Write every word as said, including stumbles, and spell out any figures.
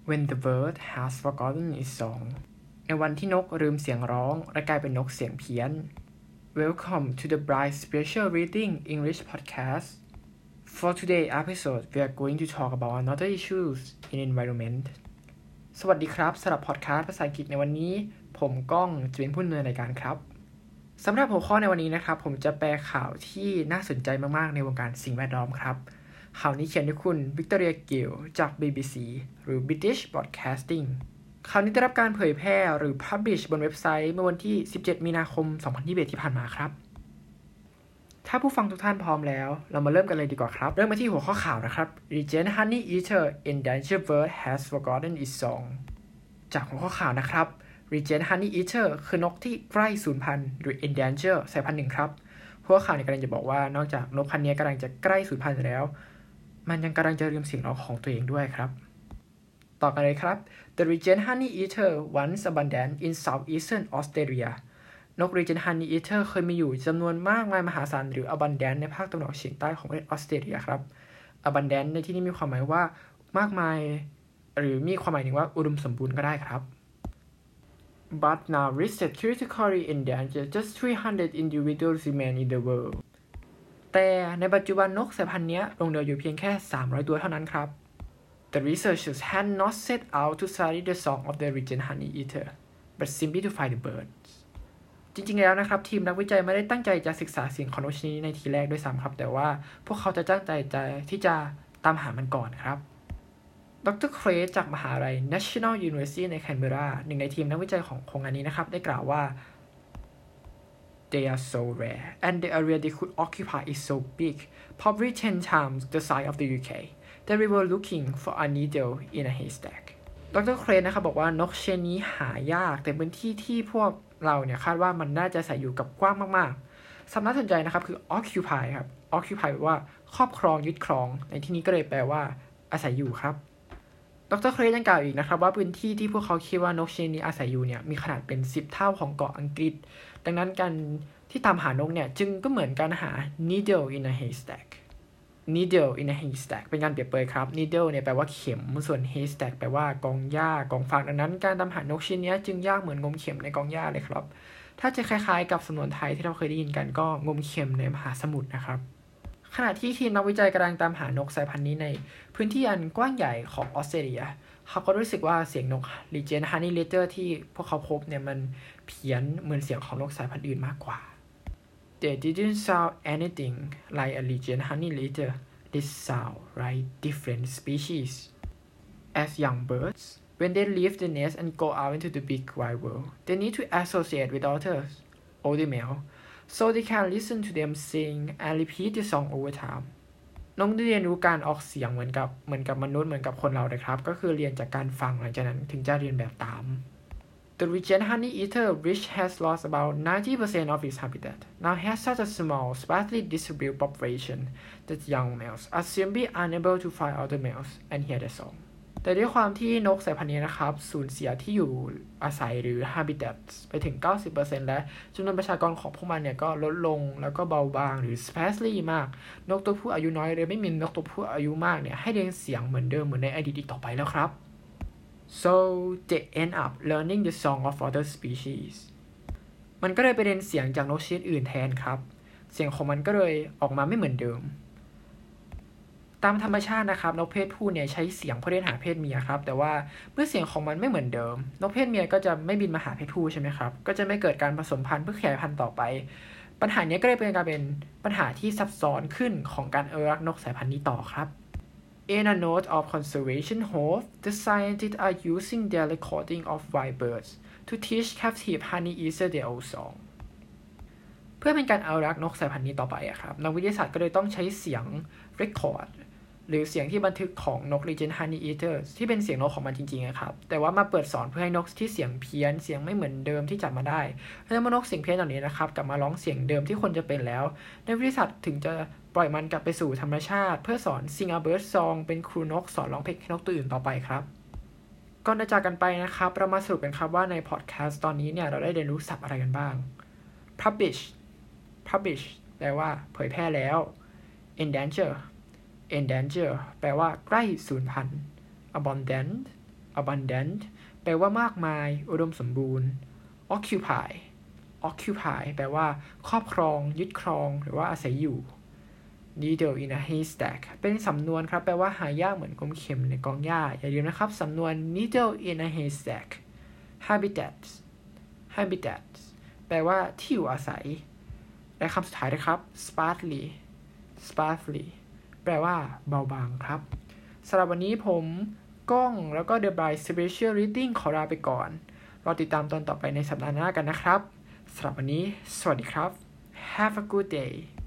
When the bird has forgotten its song ในวันที่นกลืมเสียงร้องและกลายเป็นนกเสียงเพี้ยน Welcome to the Bright Special Reading English Podcast. For today's episode, we are going to talk about another issues in environment. สวัสดีครับสำหรับพอดคาสต์ภาษาอังกฤษในวันนี้ผมก้องจะเป็นผู้ดำเนินรายการครับสำหรับหัวข้อในวันนี้นะครับผมจะแปลข่าวที่น่าสนใจมากๆในวงการสิ่งแวดล้อมครับข่าวนี้เขียนโดยคุณวิกตอเรียกิลจาก บี บี ซี หรือ British Broadcasting ข่าวนี้ได้รับการเผยแพร่หรือ Publish บนเว็บไซต์เมื่อวันที่สิบเจ็ดมีนาคมสองพันยี่สิบเอ็ดที่ผ่านมาครับถ้าผู้ฟังทุกท่านพร้อมแล้วเรามาเริ่มกันเลยดีกว่าครับเริ่มมาที่หัวข้อข่าวนะครับ Regent Honey Eater Endangered Bird Has Forgotten Its Song จากหัวข้อข่าวนะครับ Regent Honey Eater คือนกที่ใกล้สูญพันธุ์หรือ Endangered สายพันธุ์หนึ่งครับหัวข้อข่าวนี้กำลังจะบอกว่านอกจากนกพันธุ์นี้กำลังจะใกล้สูญพันธุ์แล้วมันยังกำลังจะลืมเสียงร้องของตัวเองด้วยครับต่อกันเลยครับ The Regent Honey Eater once abundant in southeastern Australia นก Regent Honey Eater เคยมีอยู่จำนวนมากมายมหาศาลหรือ abundant ในภาคตะวันออกเฉียงใต้ของประเทศออสเตรเลียครับ abundant ในที่นี้มีความหมายว่ามากมายหรือมีความหมายถึงว่าอุดมสมบูรณ์ก็ได้ครับ But now listed critically endangered just three hundred individuals remain in the worldแต่ในปัจจุบันนกสายพันธุ์นี้ลงเหลืออยู่เพียงแค่สามร้อยตัวเท่านั้นครับ The researchers had not set out to study the song of the Regent Honey Eater but simply to find the birds จริงๆแล้วนะครับทีมนักวิจัยไม่ได้ตั้งใจจะศึกษาเสียงของนกชนิดนี้ในทีแรกด้วยซ้ำครับแต่ว่าพวกเขาจะตั้งใจจะที่จะตามหามันก่อนครับดร.เครสจากมหาวิทยาลัย National University ในแคนเบอราหนึ่งในทีมนักวิจัยของโครงงานนี้นะครับได้กล่าวว่าThey are so rare, and the area they could occupy is so big, probably ten times the size of the ยู เค that we were looking for a needle in a haystack. ดร.เครนนะครับบอกว่านกชนิดนี้หายากแต่พื้นที่ที่พวกเราเนี่ยคาดว่ามันน่าจะใส่อยู่กับกว้างมากๆสำนักสนใจนะครับคือ occupy ครับ occupy แปลว่าครอบครองยึดครองในที่นี้ก็เลยแปลว่าอาศัยอยู่ครับดร.เครนยังกล่าวอีกนะครับว่าพื้นที่ที่พวกเขาคิดว่านกชนิดนี้อาศัยอยู่เนี่ยมีขนาดเป็นสิบเท่าของเกาะอังกฤษดังนั้นการที่ตามหานกเนี่ยจึงก็เหมือนการหา needle in a haystack needle in a haystack เป็นการเปรียบเปรยครับ needle เนี่ยแปลว่าเข็มส่วน haystack แปลว่ากองหญ้ากองฟางดังนั้นการตามหานกชนิดนี้จึงยากเหมือนงมเข็มในกองหญ้าเลยครับถ้าจะคล้ายๆกับสำนวนไทยที่เราเคยได้ยินกันก็งมเข็มในมหาสมุทรนะครับขณะที่ทีมนักวิจัยกำลังตามหานกสายพันธุ์นี้ในพื้นที่อันกว้างใหญ่ของออสเตรเลียเขาก็รู้สึกว่าเสียงนก Regent Honey Eater ที่พวกเขาพบเนี่ยมันเพี้ยนเหมือนเสียงของนกสายพันธุ์อื่นมากกว่า They didn't sound anything like a Regent Honey Eater. They sound like different species. As young birds, when they leave the nest and go out into the big wide world, they need to associate with others, older male.So they can listen to them sing and repeat the song over time นกได้เรียนรู้การออกเสียงเหมือนกับเหมือนกับมนุษย์เหมือนกับคนเราเลยครับก็คือเรียนจากการฟังหลังจากนั้นถึงจะเรียนแบบตาม The Regent Honey Eater which has lost about ninety percent of its habitat now has such a small sparsely distributed population that young males are simply unable to find other males and hear their songแต่ด้วยความที่นกสายพันธุ์นี้นะครับสูญเสียที่อยู่อาศัยหรือ habitat ไปถึง เก้าสิบเปอร์เซ็นต์ และจำนวนประชากรของพวกมันเนี่ยก็ลดลงแล้วก็เบาบางหรือ sparsely มากนกตัวผู้อายุน้อยเลยไม่มีนกตัวผู้อายุมากเนี่ยให้เรียนเสียงเหมือนเดิมเหมือนในอดีตอีกต่อไปแล้วครับ so they end up learning the song of other species มันก็เลยไปเรียนเสียงจากนกชนิดอื่นแทนครับเสียงของมันก็เลยออกมาไม่เหมือนเดิมตามธรรมชาตินะครับนกเพศผู้เนี่ยใช้เสียงเพื่อเรียกหาเพศเมียครับแต่ว่าเมื่อเสียงของมันไม่เหมือนเดิมนกเพศเมียก็จะไม่บินมาหาเพศผู้ใช่ไหมครับก็จะไม่เกิดการผสมพันธุ์เพื่อขยายพันธุ์ต่อไปปัญหานี้ก็เลยเป็นการเป็นปัญหาที่ซับซ้อนขึ้นของการอนุรักษ์นกสายพันธุ์นี้ต่อครับ In a note of conservation hope the scientists are using their recording of wild birds to teach captive honey eater their old song เพื่อเป็นการอนุรักษ์นกสายพันธุ์นี้ต่อไปอะครับนักวิทยาศาสตร์ก็เลยต้องใช้เสียง recordหรือเสียงที่บันทึกของนก Regent Honey Eater ที่เป็นเสียงนกของมันจริงๆนะครับแต่ว่ามาเปิดสอนเพื่อให้นกที่เสียงเพี้ยนเสียงไม่เหมือนเดิมที่จับมาได้แล้วเมื่อนกเสียงเพี้ยนเหล่านี้นะครับกลับมาร้องเสียงเดิมที่คนจะเป็นแล้วนักวิทยาศาสตร์ถึงจะปล่อยมันกลับไปสู่ธรรมชาติเพื่อสอน Sing a Bird Song เป็นครูนกสอนร้องเพลงให้นกตัวอื่นต่อไปครับก่อนจะจากกันไปนะครับเรามาสรุปกันครับว่าในพอดแคสต์ตอนนี้เนี่ยเราได้เรียนรู้ศัพท์อะไรกันบ้าง Publish Publish แปลว่าเผยแพร่แล้ว Endanger endanger แปลว่าใกล้สูญพันธุ์ abundant abundant แปลว่ามากมายอุดมสมบูรณ์ occupy occupy แปลว่าครอบครองยึดครองหรือว่าอาศัยอยู่ needle in a haystack เป็นสำนวนครับแปลว่าหายากเหมือนกลมเข็มในกองหญ้าอย่าลืมนะครับสำนวน needle in a haystack habitat habitat แปลว่าที่อยู่อาศัยและคำสุดท้ายนะครับ sparsely sparsely แปลว่าเบาบางครับสำหรับวันนี้ผมก้องแล้วก็ The Bright Special Reading ขอลาไปก่อนรอติดตามตอนต่อไปในสัปดาห์หน้ากันนะครับสำหรับวันนี้สวัสดีครับ Have a good day